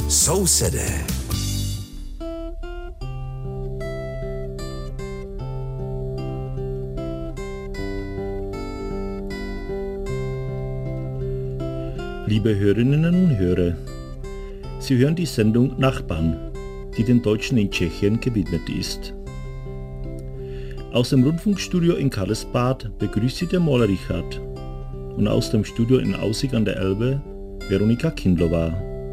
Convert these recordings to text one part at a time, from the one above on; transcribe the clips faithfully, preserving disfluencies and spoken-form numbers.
Sousedé. Liebe Hörerinnen und Hörer, Sie hören die Sendung Nachbarn, die den Deutschen in Tschechien gewidmet ist. Aus dem Rundfunkstudio in Karlsbad begrüßt Sie der Maler Richard und aus dem Studio in Aussig an der Elbe Veronika Kindlova.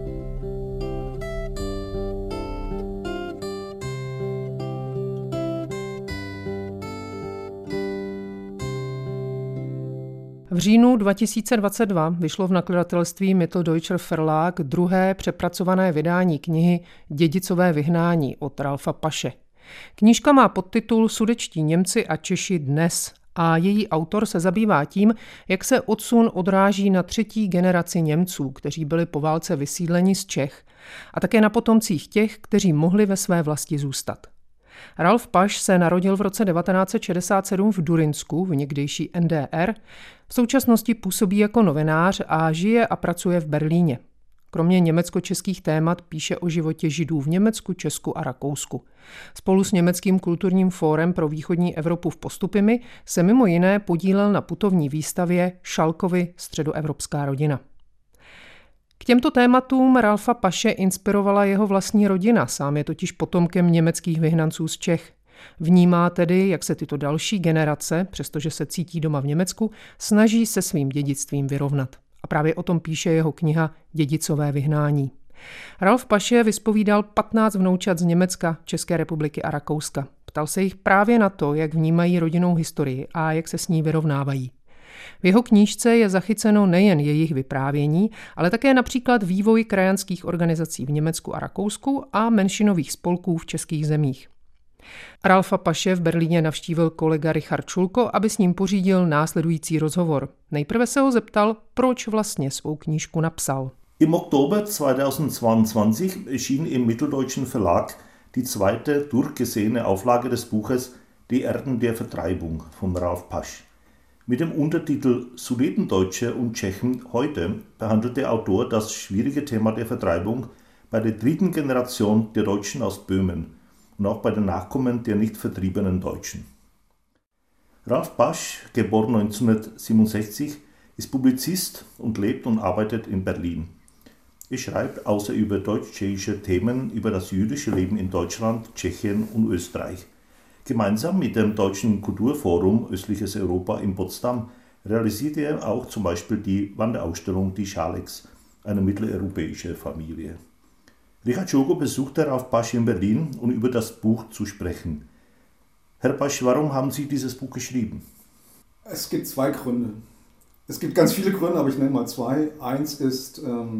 V říjnu dva tisíce dvacet dva vyšlo v nakladatelství Mitteldeutscher Verlag druhé přepracované vydání knihy Dědicové vyhnání od Ralfa Paše. Knížka má podtitul Sudetští Němci a Češi dnes a její autor se zabývá tím, jak se odsun odráží na třetí generaci Němců, kteří byli po válce vysídleni z Čech, a také na potomcích těch, kteří mohli ve své vlasti zůstat. Ralf Paš se narodil v roce devatenáct set šedesát sedm v Durinsku v někdejší N D R. V současnosti působí jako novinář a žije a pracuje v Berlíně. Kromě německo-českých témat píše o životě Židů v Německu, Česku a Rakousku. Spolu s Německým kulturním fórem pro východní Evropu v Postupimi se mimo jiné podílel na putovní výstavě Šalkovy Středoevropská rodina. K těmto tématům Ralfa Paše inspirovala jeho vlastní rodina, sám je totiž potomkem německých vyhnanců z Čech. Vnímá tedy, jak se tyto další generace, přestože se cítí doma v Německu, snaží se svým dědictvím vyrovnat. A právě o tom píše jeho kniha Dědicové vyhnání. Ralf Paše vyspovídal patnáct vnoučat z Německa, České republiky a Rakouska. Ptal se jich právě na to, jak vnímají rodinnou historii a jak se s ní vyrovnávají. V jeho knížce je zachyceno nejen jejich vyprávění, ale také například vývoj krajanských organizací v Německu a Rakousku a menšinových spolků v českých zemích. Ralfa Paše v Berlíně navštívil kolega Richard Schulko, aby s ním pořídil následující rozhovor. Nejprve se ho zeptal, proč vlastně svou knížku napsal. Im Oktober zweitausendzweiundzwanzig erschien im Mitteldeutschen Verlag die zweite durchgesehene Auflage des Buches Die Erden der Vertreibung von Ralf Pasch. Mit dem Untertitel Sudetendeutsche und Tschechen heute behandelt der Autor das schwierige Thema der Vertreibung bei der dritten Generation der Deutschen aus Böhmen und auch bei den Nachkommen der nicht vertriebenen Deutschen. Ralf Pasch, geboren neunzehnhundertsiebenundsechzig, ist Publizist und lebt und arbeitet in Berlin. Er schreibt außer über deutsch-tschechische Themen über das jüdische Leben in Deutschland, Tschechien und Österreich. Gemeinsam mit dem Deutschen Kulturforum Östliches Europa in Potsdam realisierte er auch zum Beispiel die Wanderausstellung Die Schaleks, eine mitteleuropäische Familie. Richard Schulko besuchte Ralf Pasch in Berlin, um über das Buch zu sprechen. Herr Pasch, warum haben Sie dieses Buch geschrieben? Es gibt zwei Gründe. Es gibt ganz viele Gründe, aber ich nenne mal zwei. Eins ist,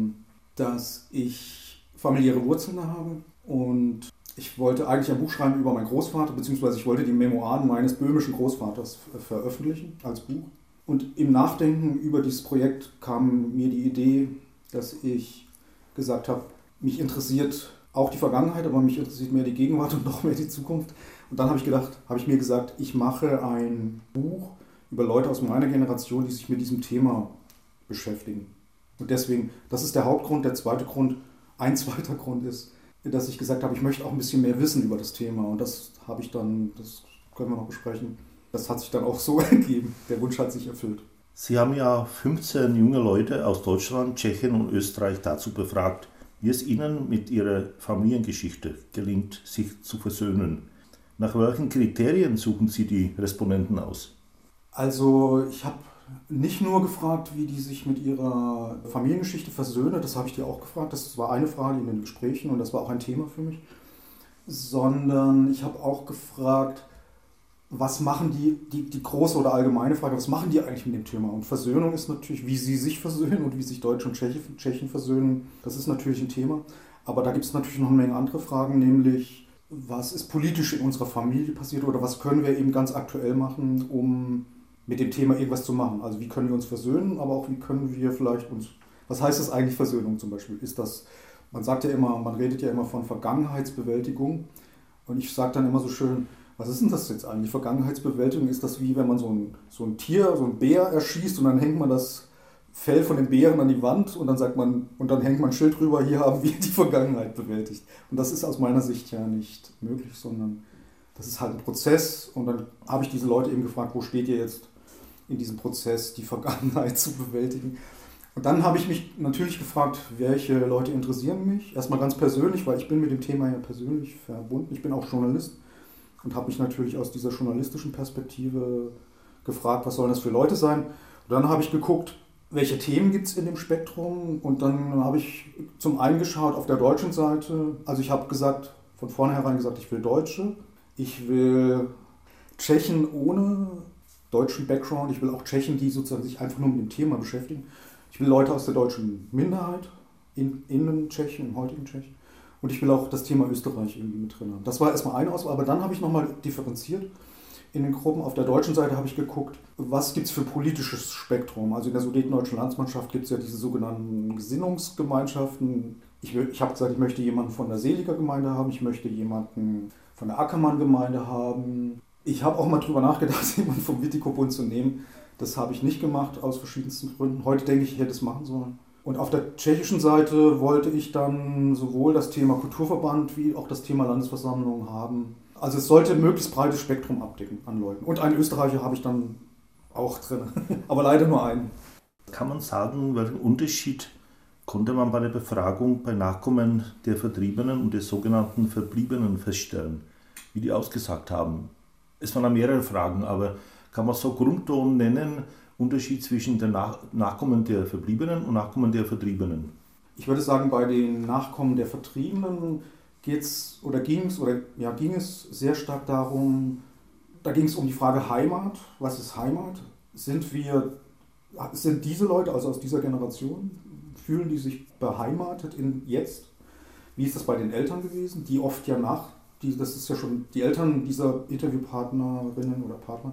dass ich familiäre Wurzeln habe und ich wollte eigentlich ein Buch schreiben über meinen Großvater, beziehungsweise ich wollte die Memoiren meines böhmischen Großvaters veröffentlichen als Buch. Und im Nachdenken über dieses Projekt kam mir die Idee, dass ich gesagt habe, mich interessiert auch die Vergangenheit, aber mich interessiert mehr die Gegenwart und noch mehr die Zukunft. Und dann habe ich gedacht, habe ich mir gesagt, ich mache ein Buch über Leute aus meiner Generation, die sich mit diesem Thema beschäftigen. Und deswegen, das ist der Hauptgrund. Der zweite Grund, ein zweiter Grund ist, dass ich gesagt habe, ich möchte auch ein bisschen mehr wissen über das Thema. Und das habe ich dann, das können wir noch besprechen, das hat sich dann auch so ergeben. Der Wunsch hat sich erfüllt. Sie haben ja fünfzehn junge Leute aus Deutschland, Tschechien und Österreich dazu befragt, wie es ihnen mit ihrer Familiengeschichte gelingt, sich zu versöhnen. Nach welchen Kriterien suchen Sie die Respondenten aus? Also ich habe nicht nur gefragt, wie die sich mit ihrer Familiengeschichte versöhnen, das habe ich dir auch gefragt, das war eine Frage in den Gesprächen und das war auch ein Thema für mich, sondern ich habe auch gefragt, was machen die, die, die große oder allgemeine Frage, was machen die eigentlich mit dem Thema? Und Versöhnung ist natürlich, wie sie sich versöhnen und wie sich Deutsche und Tschechen, Tschechen versöhnen, das ist natürlich ein Thema, aber da gibt es natürlich noch eine Menge andere Fragen, nämlich was ist politisch in unserer Familie passiert oder was können wir eben ganz aktuell machen, um mit dem Thema irgendwas zu machen. Also wie können wir uns versöhnen, aber auch wie können wir vielleicht uns, was heißt das eigentlich Versöhnung zum Beispiel? Ist das, man sagt ja immer, man redet ja immer von Vergangenheitsbewältigung und ich sage dann immer so schön, was ist denn das jetzt eigentlich? Vergangenheitsbewältigung, ist das wie wenn man so ein, so ein Tier, so ein Bär erschießt und dann hängt man das Fell von den Bären an die Wand und dann sagt man, und dann hängt man ein Schild drüber, hier haben wir die Vergangenheit bewältigt. Und das ist aus meiner Sicht ja nicht möglich, sondern das ist halt ein Prozess. Und dann habe ich diese Leute eben gefragt, wo steht ihr jetzt in diesem Prozess, die Vergangenheit zu bewältigen? Und dann habe ich mich natürlich gefragt, welche Leute interessieren mich. Erstmal ganz persönlich, weil ich bin mit dem Thema ja persönlich verbunden. Ich bin auch Journalist und habe mich natürlich aus dieser journalistischen Perspektive gefragt, was sollen das für Leute sein. Und dann habe ich geguckt, welche Themen gibt es in dem Spektrum. Und dann habe ich zum einen geschaut auf der deutschen Seite. Also ich habe gesagt, von vornherein gesagt, ich will Deutsche. Ich will Tschechen ohne deutschen Background. Ich will auch Tschechen, die sozusagen sich einfach nur mit dem Thema beschäftigen. Ich will Leute aus der deutschen Minderheit, in, in Tschechien, im heutigen Tschechien. Und ich will auch das Thema Österreich irgendwie mit drin haben. Das war erstmal eine Auswahl, aber dann habe ich nochmal differenziert in den Gruppen. Auf der deutschen Seite habe ich geguckt, was gibt es für politisches Spektrum. Also in der Sudetendeutschen Landsmannschaft gibt es ja diese sogenannten Gesinnungsgemeinschaften. Ich, ich habe gesagt, ich möchte jemanden von der Seliger Gemeinde haben, ich möchte jemanden von der Ackermann-Gemeinde haben. Ich habe auch mal drüber nachgedacht, jemanden vom Wittico-Bund zu nehmen. Das habe ich nicht gemacht, aus verschiedensten Gründen. Heute denke ich, ich hätte es machen sollen. Und auf der tschechischen Seite wollte ich dann sowohl das Thema Kulturverband wie auch das Thema Landesversammlung haben. Also es sollte ein möglichst breites Spektrum abdecken an Leuten. Und einen Österreicher habe ich dann auch drin, aber leider nur einen. Kann man sagen, welchen Unterschied konnte man bei der Befragung bei Nachkommen der Vertriebenen und des sogenannten Verbliebenen feststellen, wie die ausgesagt haben? Es waren mehrere Fragen, aber kann man so Grundton nennen, Unterschied zwischen den Nach- Nachkommen der Verbliebenen und Nachkommen der Vertriebenen? Ich würde sagen, bei den Nachkommen der Vertriebenen geht's oder ging es oder ja ging es sehr stark darum, da ging es um die Frage Heimat. Was ist Heimat? Sind wir, sind diese Leute, also aus dieser Generation, fühlen die sich beheimatet in jetzt? Wie ist das bei den Eltern gewesen, die oft ja nach, die, das ist ja schon die Eltern dieser Interviewpartnerinnen oder Partner.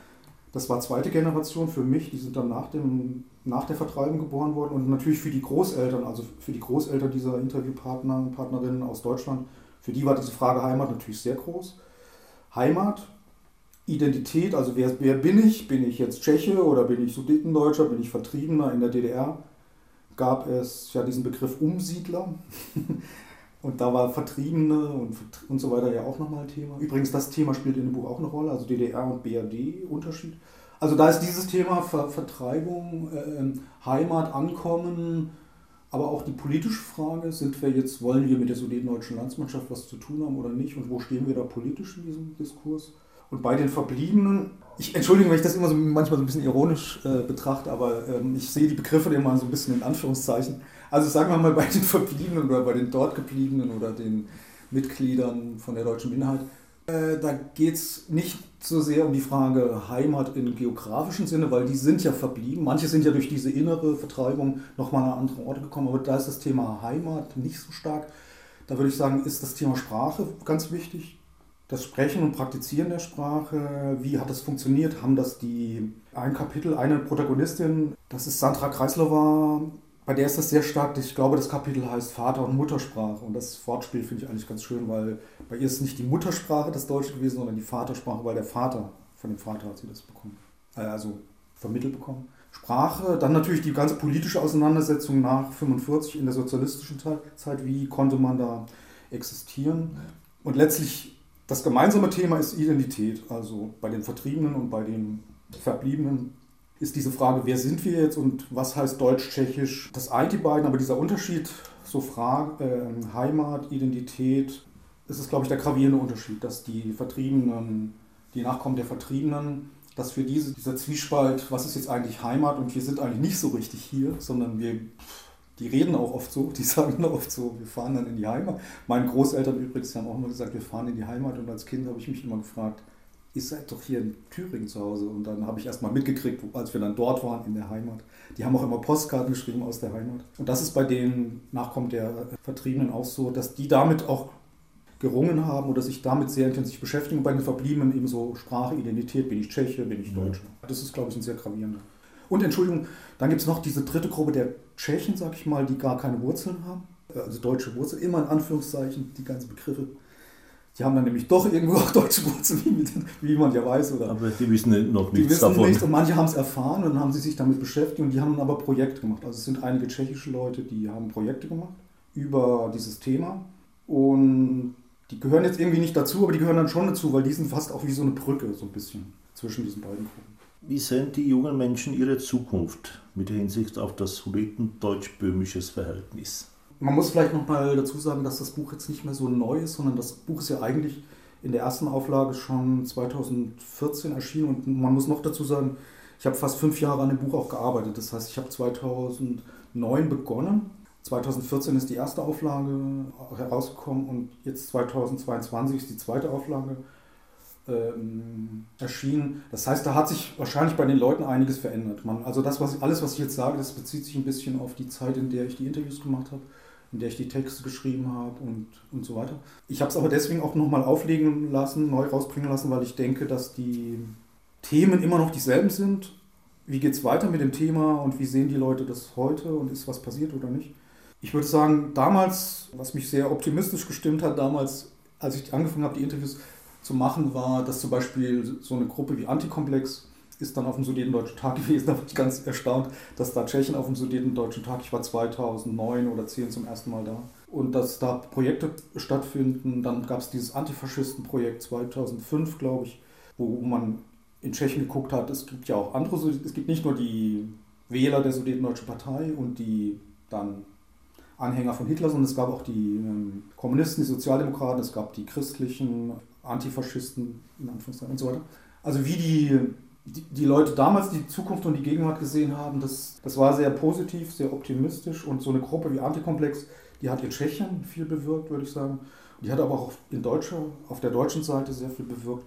Das war zweite Generation für mich, die sind dann nach, dem, nach der Vertreibung geboren worden und natürlich für die Großeltern, also für die Großeltern dieser Interviewpartner und Partnerinnen aus Deutschland, für die war diese Frage Heimat natürlich sehr groß. Heimat, Identität, also wer, wer bin ich? Bin ich jetzt Tscheche oder bin ich Sudetendeutscher, bin ich Vertriebener? In der D D R gab es ja diesen Begriff Umsiedler. Und da war Vertriebene und, und so weiter ja auch nochmal ein Thema. Übrigens, das Thema spielt in dem Buch auch eine Rolle, also D D R und B R D-Unterschied. Also da ist dieses Thema Ver- Vertreibung, äh, Heimat, Ankommen, aber auch die politische Frage, sind wir jetzt, wollen wir mit der Sudetendeutschen Landsmannschaft was zu tun haben oder nicht und wo stehen wir da politisch in diesem Diskurs? Und bei den Verbliebenen, ich entschuldige, wenn ich das immer so manchmal so ein bisschen ironisch äh, betrachte, aber ähm, ich sehe die Begriffe immer so ein bisschen in Anführungszeichen. Also sagen wir mal bei den Verbliebenen oder bei den dort Gebliebenen oder den Mitgliedern von der deutschen Minderheit, äh, da geht es nicht so sehr um die Frage Heimat im geografischen Sinne, weil die sind ja verblieben. Manche sind ja durch diese innere Vertreibung nochmal an andere Orte gekommen, aber da ist das Thema Heimat nicht so stark. Da würde ich sagen, ist das Thema Sprache ganz wichtig. Das Sprechen und Praktizieren der Sprache, wie hat das funktioniert? Haben das die, ein Kapitel, eine Protagonistin, das ist Sandra Kreislova, bei der ist das sehr stark, ich glaube, das Kapitel heißt Vater- und Muttersprache und das Wortspiel finde ich eigentlich ganz schön, weil bei ihr ist nicht die Muttersprache das Deutsche gewesen, sondern die Vatersprache, weil der Vater, von dem Vater hat sie das bekommen, also vermittelt bekommen. Sprache, dann natürlich die ganze politische Auseinandersetzung nach fünfundvierzig in der sozialistischen Zeit, wie konnte man da existieren und letztlich das gemeinsame Thema ist Identität, also bei den Vertriebenen und bei den Verbliebenen ist diese Frage, wer sind wir jetzt und was heißt Deutsch-Tschechisch? Das eint die beiden, aber dieser Unterschied, so Frage, äh, Heimat, Identität, das ist, glaube ich, der gravierende Unterschied, dass die Vertriebenen, die Nachkommen der Vertriebenen, dass für diese, dieser Zwiespalt, was ist jetzt eigentlich Heimat und wir sind eigentlich nicht so richtig hier, sondern wir... Die reden auch oft so, die sagen oft so, wir fahren dann in die Heimat. Meine Großeltern übrigens haben auch immer gesagt, wir fahren in die Heimat und als Kind habe ich mich immer gefragt, ihr seid doch hier in Thüringen zu Hause und dann habe ich erst mal mitgekriegt, als wir dann dort waren in der Heimat. Die haben auch immer Postkarten geschrieben aus der Heimat. Und das ist bei den Nachkommen der Vertriebenen auch so, dass die damit auch gerungen haben oder sich damit sehr intensiv beschäftigen. Und bei den Verbliebenen eben so Sprache, Identität, bin ich Tscheche, bin ich Deutscher. Das ist, glaube ich, ein sehr gravierender. Und Entschuldigung, dann gibt es noch diese dritte Gruppe der Tschechen, sag ich mal, die gar keine Wurzeln haben, also deutsche Wurzeln, immer in Anführungszeichen, die ganzen Begriffe. Die haben dann nämlich doch irgendwo auch deutsche Wurzeln, wie, wie man ja weiß. Oder aber die wissen noch nichts die wissen davon. Nichts und manche haben es erfahren und dann haben sie sich damit beschäftigt und die haben dann aber Projekte gemacht. Also es sind einige tschechische Leute, die haben Projekte gemacht über dieses Thema und die gehören jetzt irgendwie nicht dazu, aber die gehören dann schon dazu, weil die sind fast auch wie so eine Brücke so ein bisschen zwischen diesen beiden Gruppen. Wie sehen die jungen Menschen ihre Zukunft mit Hinsicht auf das sudetendeutsch-böhmisches Verhältnis? Man muss vielleicht noch mal dazu sagen, dass das Buch jetzt nicht mehr so neu ist, sondern das Buch ist ja eigentlich in der ersten Auflage schon zweitausendvierzehn erschienen und man muss noch dazu sagen, ich habe fast fünf Jahre an dem Buch auch gearbeitet. Das heißt, ich habe zweitausendneun begonnen, zweitausendvierzehn ist die erste Auflage herausgekommen und jetzt zweitausendzweiundzwanzig ist die zweite Auflage ähm, erschienen. Das heißt, da hat sich wahrscheinlich bei den Leuten einiges verändert. Man, also das, was alles, was ich jetzt sage, das bezieht sich ein bisschen auf die Zeit, in der ich die Interviews gemacht habe, in der ich die Texte geschrieben habe und, und so weiter. Ich habe es aber deswegen auch nochmal auflegen lassen, neu rausbringen lassen, weil ich denke, dass die Themen immer noch dieselben sind. Wie geht es weiter mit dem Thema und wie sehen die Leute das heute und ist was passiert oder nicht? Ich würde sagen, damals, was mich sehr optimistisch gestimmt hat, damals, als ich angefangen habe, die Interviews zu machen, war, dass zum Beispiel so eine Gruppe wie Antikomplex ist dann auf dem Sudetendeutschen Tag gewesen. Da war ich ganz erstaunt, dass da Tschechen auf dem Sudetendeutschen Tag, ich war zweitausendneun oder zehn zum ersten Mal da, und dass da Projekte stattfinden. Dann gab es dieses Antifaschisten-Projekt zweitausendfünf, glaube ich, wo man in Tschechien geguckt hat, es gibt ja auch andere, es gibt nicht nur die Wähler der Sudetendeutschen Partei und die dann Anhänger von Hitler, sondern es gab auch die ähm, Kommunisten, die Sozialdemokraten, es gab die christlichen Antifaschisten in Anführungszeichen und so weiter. Also wie die, die, die Leute damals die Zukunft und die Gegenwart gesehen haben, das, das war sehr positiv, sehr optimistisch und so eine Gruppe wie Antikomplex, die hat in Tschechien viel bewirkt, würde ich sagen. Die hat aber auch in Deutsche, auf der deutschen Seite sehr viel bewirkt,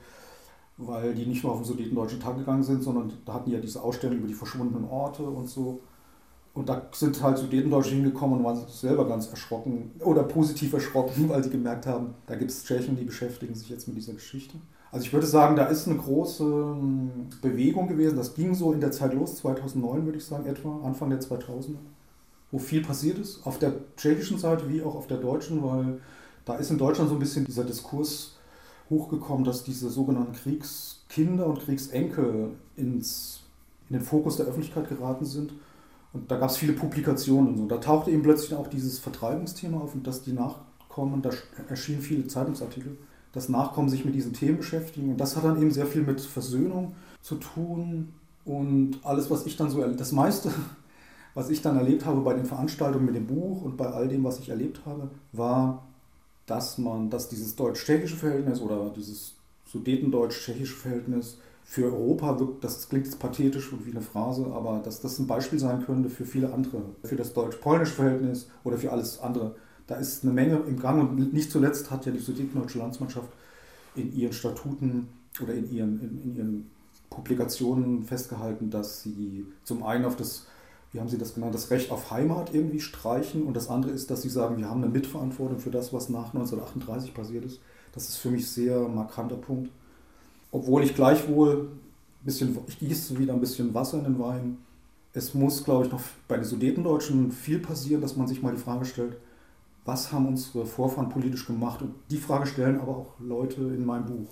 weil die nicht nur auf den Sudetendeutschen Tag gegangen sind, sondern da hatten die ja diese Ausstellung über die verschwundenen Orte und so. Und da sind halt Sudetendeutsche hingekommen und waren selber ganz erschrocken oder positiv erschrocken, weil sie gemerkt haben, da gibt es Tschechen, die beschäftigen sich jetzt mit dieser Geschichte. Also ich würde sagen, da ist eine große Bewegung gewesen. Das ging so in der Zeit los, zweitausendneun würde ich sagen, etwa, Anfang der zweitausender, wo viel passiert ist, auf der tschechischen Seite wie auch auf der deutschen, weil da ist in Deutschland so ein bisschen dieser Diskurs hochgekommen, dass diese sogenannten Kriegskinder und Kriegsenkel ins, in den Fokus der Öffentlichkeit geraten sind. Und da gab es viele Publikationen und so. Da tauchte eben plötzlich auch dieses Vertreibungsthema auf und dass die Nachkommen, da erschienen viele Zeitungsartikel, dass Nachkommen sich mit diesen Themen beschäftigen. Und das hat dann eben sehr viel mit Versöhnung zu tun. Und alles, was ich dann so, das meiste, was ich dann erlebt habe bei den Veranstaltungen mit dem Buch und bei all dem, was ich erlebt habe, war, dass man, dass dieses deutsch-tschechische Verhältnis oder dieses sudetendeutsch-tschechische Verhältnis für Europa wirkt, das klingt jetzt pathetisch und wie eine Phrase, aber dass das ein Beispiel sein könnte für viele andere, für das deutsch-polnische Verhältnis oder für alles andere. Da ist eine Menge im Gang und nicht zuletzt hat ja die sudetendeutsche Landsmannschaft in ihren Statuten oder in ihren, in, in ihren Publikationen festgehalten, dass sie zum einen auf das, wie haben sie das genannt, das Recht auf Heimat irgendwie streichen und das andere ist, dass sie sagen, wir haben eine Mitverantwortung für das, was nach neunzehnhundertachtunddreißig passiert ist. Das ist für mich ein sehr markanter Punkt. Obwohl ich gleichwohl, ein bisschen, ich gieße wieder ein bisschen Wasser in den Wein. Es muss, glaube ich, noch bei den Sudetendeutschen viel passieren, dass man sich mal die Frage stellt, was haben unsere Vorfahren politisch gemacht? Und die Frage stellen aber auch Leute in meinem Buch.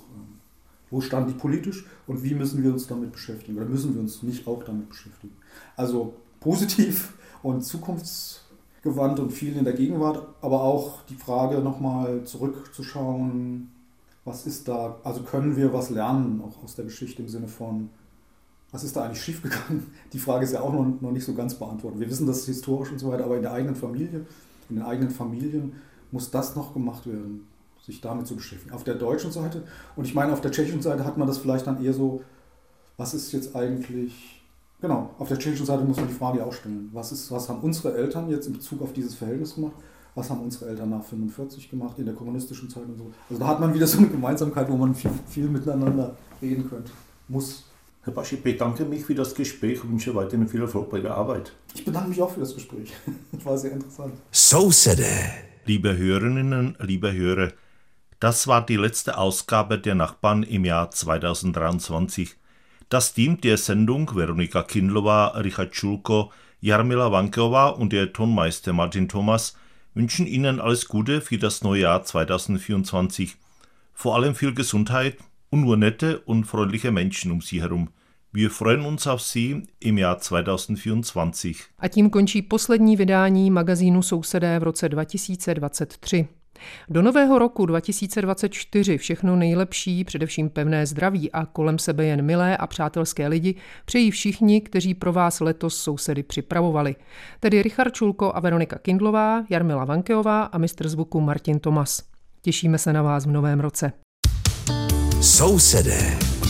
Wo standen die politisch und wie müssen wir uns damit beschäftigen? Oder müssen wir uns nicht auch damit beschäftigen? Also positiv und zukunftsgewandt und viel in der Gegenwart, aber auch die Frage nochmal zurückzuschauen, was ist da, also können wir was lernen, auch aus der Geschichte im Sinne von, was ist da eigentlich schiefgegangen? Die Frage ist ja auch noch, noch nicht so ganz beantwortet. Wir wissen das historisch und so weiter, aber in der eigenen Familie, in den eigenen Familien muss das noch gemacht werden, sich damit zu beschäftigen. Auf der deutschen Seite, und ich meine, auf der tschechischen Seite hat man das vielleicht dann eher so, was ist jetzt eigentlich, genau, auf der tschechischen Seite muss man die Frage auch stellen, was, ist, was haben unsere Eltern jetzt in Bezug auf dieses Verhältnis gemacht? Was haben unsere Eltern nach fünfundvierzig gemacht, in der kommunistischen Zeit und so. Also da hat man wieder so eine Gemeinsamkeit, wo man viel, viel miteinander reden könnte, muss. Herr Pasch, ich bedanke mich für das Gespräch und wünsche weiterhin viel Erfolg bei der Arbeit. Ich bedanke mich auch für das Gespräch. Das war sehr interessant. So said it. Liebe Hörerinnen, liebe Hörer, das war die letzte Ausgabe der Nachbarn im Jahr zweitausenddreiundzwanzig. Das Team der Sendung, Veronika Kindlova, Richard Schulko, Jarmila Vankeová und der Tonmeister Martin Thomas, wünschen Ihnen alles Gute für das neue Jahr zweitausendvierundzwanzig. vor allem viel Gesundheit und nur nette und freundliche Menschen um Sie herum. Wir freuen uns auf Sie im Jahr dvacet dvacet. A tím končí poslední vydání magazínu Sousedé v roce dva tisíce dvacet tři. Do nového roku dva tisíce dvacet čtyři všechno nejlepší, především pevné zdraví a kolem sebe jen milé a přátelské lidi přejí všichni, kteří pro vás letos sousedy připravovali. Tedy Richard Čulko a Veronika Kindlová, Jarmila Vankeová a mistr zvuku Martin Tomas. Těšíme se na vás v novém roce. Sousedé.